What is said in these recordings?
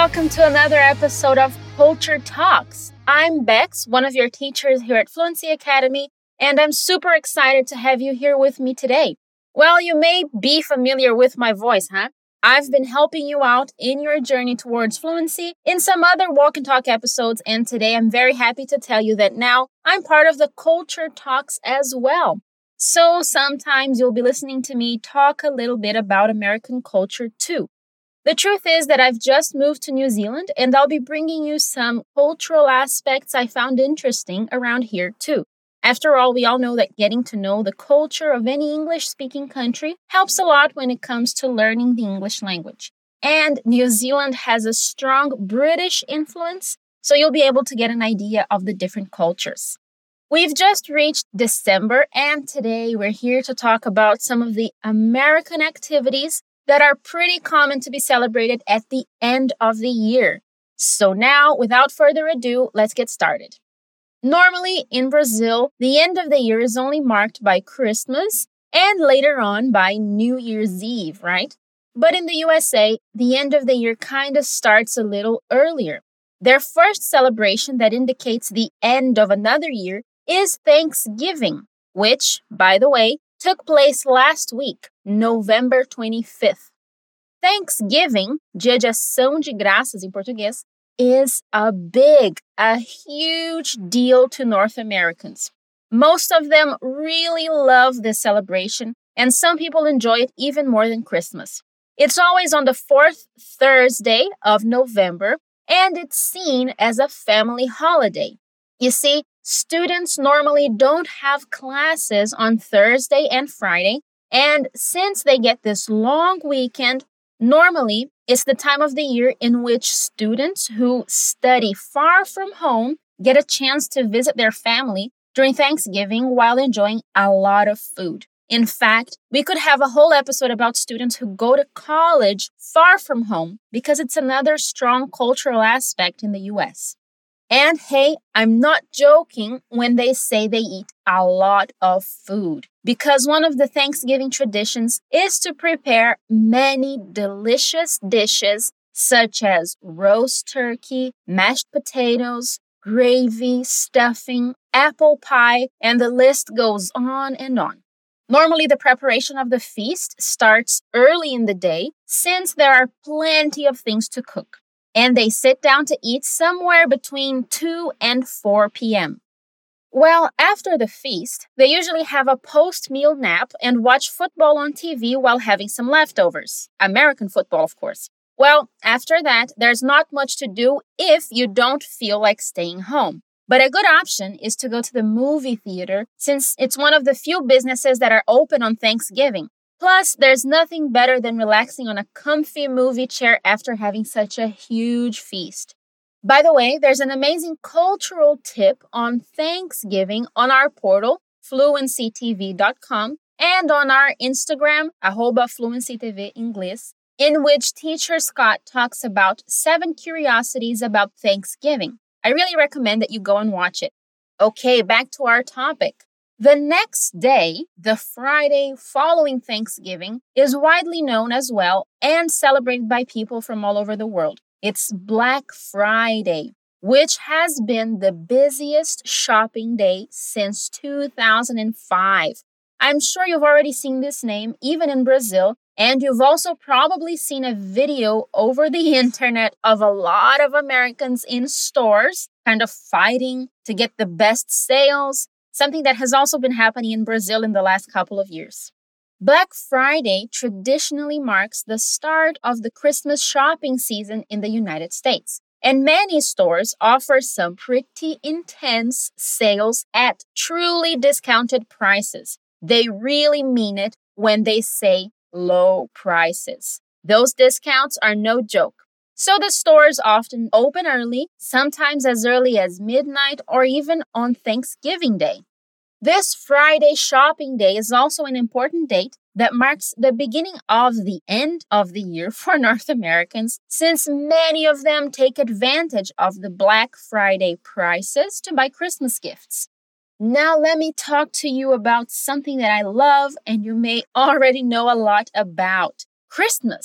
welcome to another episode of Culture Talks. I'm Bex, one of your teachers here at Fluency Academy, and I'm super excited to have you here with me today. Well, you may be familiar with my voice, huh? I've been helping you out in your journey towards fluency in some other Walk and Talk episodes, and today I'm very happy to tell you that now I'm part of the Culture Talks as well. So sometimes you'll be listening to me talk a little bit about American culture too. The truth is that I've just moved to New Zealand, and I'll be bringing you some cultural aspects I found interesting around here too. After all, we all know that getting to know the culture of any English-speaking country helps a lot when it comes to learning the English language. And New Zealand has a strong British influence, so you'll be able to get an idea of the different cultures. We've just reached December, and today we're here to talk about some of the American activities that are pretty common to be celebrated at the end of the year. So now, without further ado, let's get started. Normally, in Brazil, the end of the year is only marked by Christmas and later on by New Year's Eve, right? But in the USA, the end of the year kind of starts a little earlier. Their first celebration that indicates the end of another year is Thanksgiving, which, by the way, took place last week, November 25th. Thanksgiving, Dia de Ação de Graças em português, is a huge deal to North Americans. Most of them really love this celebration, and some people enjoy it even more than Christmas. It's always on the fourth Thursday of November, and it's seen as a family holiday. You see, students normally don't have classes on Thursday and Friday, and since they get this long weekend, normally it's the time of the year in which students who study far from home get a chance to visit their family during Thanksgiving while enjoying a lot of food. In fact, we could have a whole episode about students who go to college far from home because it's another strong cultural aspect in the US. And hey, I'm not joking when they say they eat a lot of food, because one of the Thanksgiving traditions is to prepare many delicious dishes such as roast turkey, mashed potatoes, gravy, stuffing, apple pie, and the list goes on and on. Normally, the preparation of the feast starts early in the day since there are plenty of things to cook. And they sit down to eat somewhere between 2 and 4 p.m. Well, after the feast, they usually have a post-meal nap and watch football on TV while having some leftovers. American football, of course. Well, after that, there's not much to do if you don't feel like staying home. But a good option is to go to the movie theater since it's one of the few businesses that are open on Thanksgiving. Plus, there's nothing better than relaxing on a comfy movie chair after having such a huge feast. By the way, there's an amazing cultural tip on Thanksgiving on our portal, fluencytv.com, and on our Instagram, @fluencytv Inglês, in which teacher Scott talks about 7 curiosities about Thanksgiving. I really recommend that you go and watch it. Okay, back to our topic. The next day, the Friday following Thanksgiving, is widely known as well and celebrated by people from all over the world. It's Black Friday, which has been the busiest shopping day since 2005. I'm sure you've already seen this name, even in Brazil, and you've also probably seen a video over the internet of a lot of Americans in stores kind of fighting to get the best sales, something that has also been happening in Brazil in the last couple of years. Black Friday traditionally marks the start of the Christmas shopping season in the United States, and many stores offer some pretty intense sales at truly discounted prices. They really mean it when they say low prices. Those discounts are no joke. So the stores often open early, sometimes as early as midnight or even on Thanksgiving Day. This Friday shopping day is also an important date that marks the beginning of the end of the year for North Americans, since many of them take advantage of the Black Friday prices to buy Christmas gifts. Now let me talk to you about something that I love and you may already know a lot about: Christmas.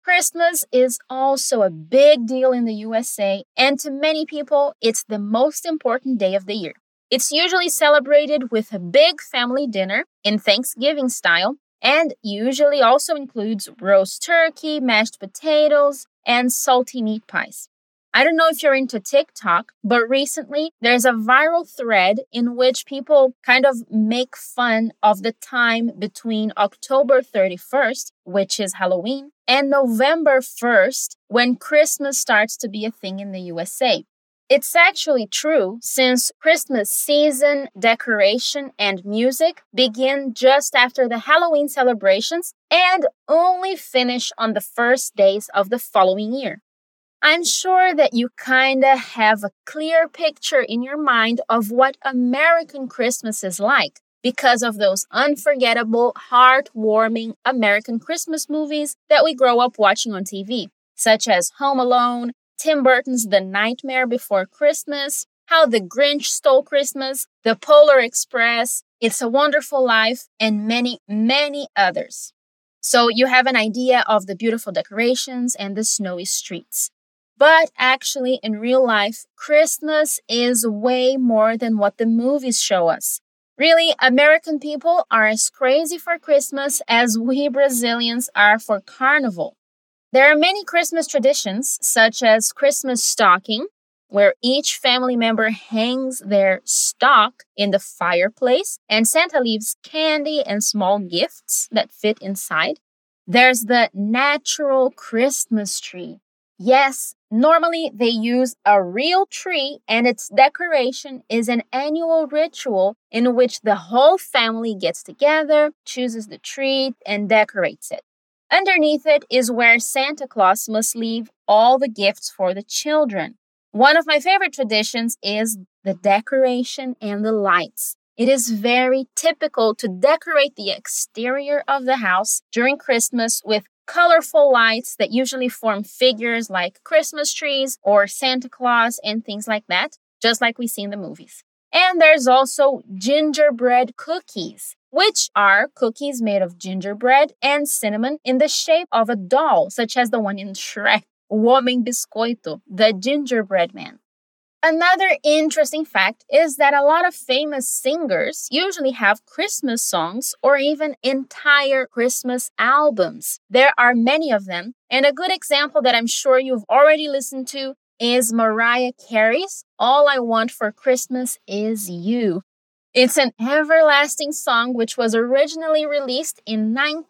Christmas is also a big deal in the USA, and to many people, it's the most important day of the year. It's usually celebrated with a big family dinner in Thanksgiving style, and usually also includes roast turkey, mashed potatoes, and salty meat pies. I don't know if you're into TikTok, but recently there's a viral thread in which people kind of make fun of the time between October 31st, which is Halloween, and November 1st, when Christmas starts to be a thing in the USA. It's actually true, since Christmas season, decoration, and music begin just after the Halloween celebrations and only finish on the first days of the following year. I'm sure that you kinda have a clear picture in your mind of what American Christmas is like because of those unforgettable, heartwarming American Christmas movies that we grow up watching on TV, such as Home Alone, Tim Burton's The Nightmare Before Christmas, How the Grinch Stole Christmas, The Polar Express, It's a Wonderful Life, and many, many others. So you have an idea of the beautiful decorations and the snowy streets. But actually, in real life, Christmas is way more than what the movies show us. Really, American people are as crazy for Christmas as we Brazilians are for Carnival. There are many Christmas traditions, such as Christmas stocking, where each family member hangs their stock in the fireplace and Santa leaves candy and small gifts that fit inside. There's the natural Christmas tree. Yes, normally they use a real tree, and its decoration is an annual ritual in which the whole family gets together, chooses the tree, and decorates it. Underneath it is where Santa Claus must leave all the gifts for the children. One of my favorite traditions is the decoration and the lights. It is very typical to decorate the exterior of the house during Christmas with colorful lights that usually form figures like Christmas trees or Santa Claus and things like that, just like we see in the movies. And there's also gingerbread cookies, which are cookies made of gingerbread and cinnamon in the shape of a doll, such as the one in Shrek, O Homem Biscoito, the gingerbread man. Another interesting fact is that a lot of famous singers usually have Christmas songs or even entire Christmas albums. There are many of them, and a good example that I'm sure you've already listened to is Mariah Carey's All I Want for Christmas Is You. It's an everlasting song which was originally released in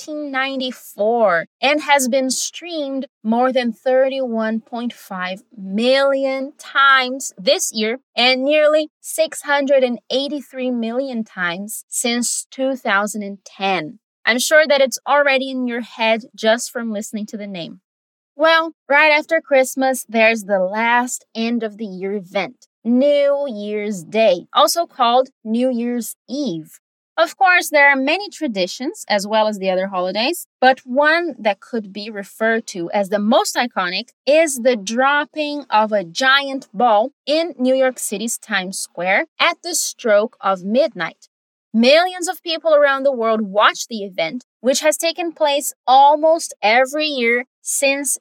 1994 and has been streamed more than 31.5 million times this year and nearly 683 million times since 2010. I'm sure that it's already in your head just from listening to the name. Well, right after Christmas, there's the last end of the year event. New Year's Day, also called New Year's Eve. Of course, there are many traditions as well as the other holidays, but one that could be referred to as the most iconic is the dropping of a giant ball in New York City's Times Square at the stroke of midnight. Millions of people around the world watch the event, which has taken place almost every year since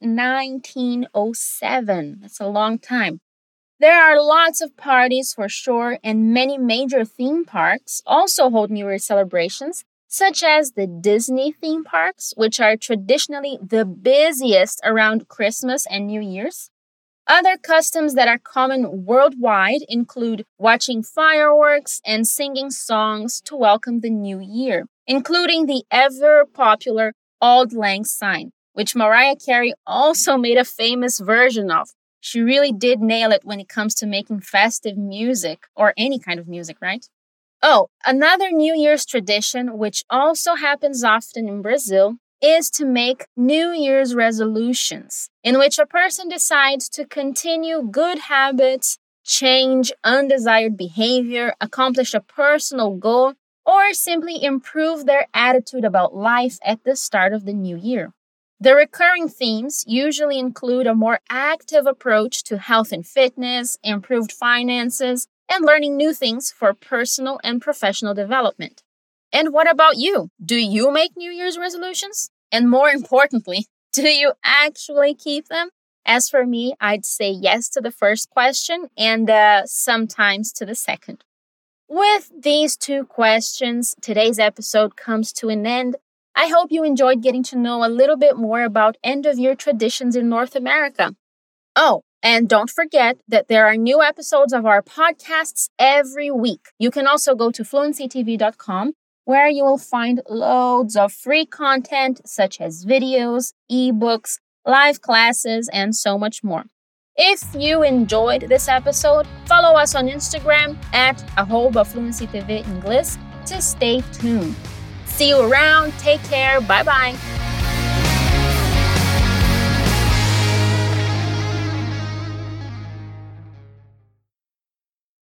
1907. That's a long time. There are lots of parties for sure, and many major theme parks also hold New Year's celebrations, such as the Disney theme parks, which are traditionally the busiest around Christmas and New Year's. Other customs that are common worldwide include watching fireworks and singing songs to welcome the new year, including the ever-popular Auld Lang Syne, which Mariah Carey also made a famous version of. She really did nail it when it comes to making festive music, or any kind of music, right? Oh, another New Year's tradition, which also happens often in Brazil, is to make New Year's resolutions, in which a person decides to continue good habits, change undesired behavior, accomplish a personal goal, or simply improve their attitude about life at the start of the new year. The recurring themes usually include a more active approach to health and fitness, improved finances, and learning new things for personal and professional development. And what about you? Do you make New Year's resolutions? And more importantly, Do you actually keep them? As for me, I'd say yes to the first question and sometimes to the second. With these two questions, today's episode comes to an end. I hope you enjoyed getting to know a little bit more about end-of-year traditions in North America. Oh, and don't forget that there are new episodes of our podcasts every week. You can also go to fluencytv.com, where you will find loads of free content such as videos, ebooks, live classes, and so much more. If you enjoyed this episode, follow us on Instagram at @FluencyTV Inglês to stay tuned. See you around. Take care. Bye-bye.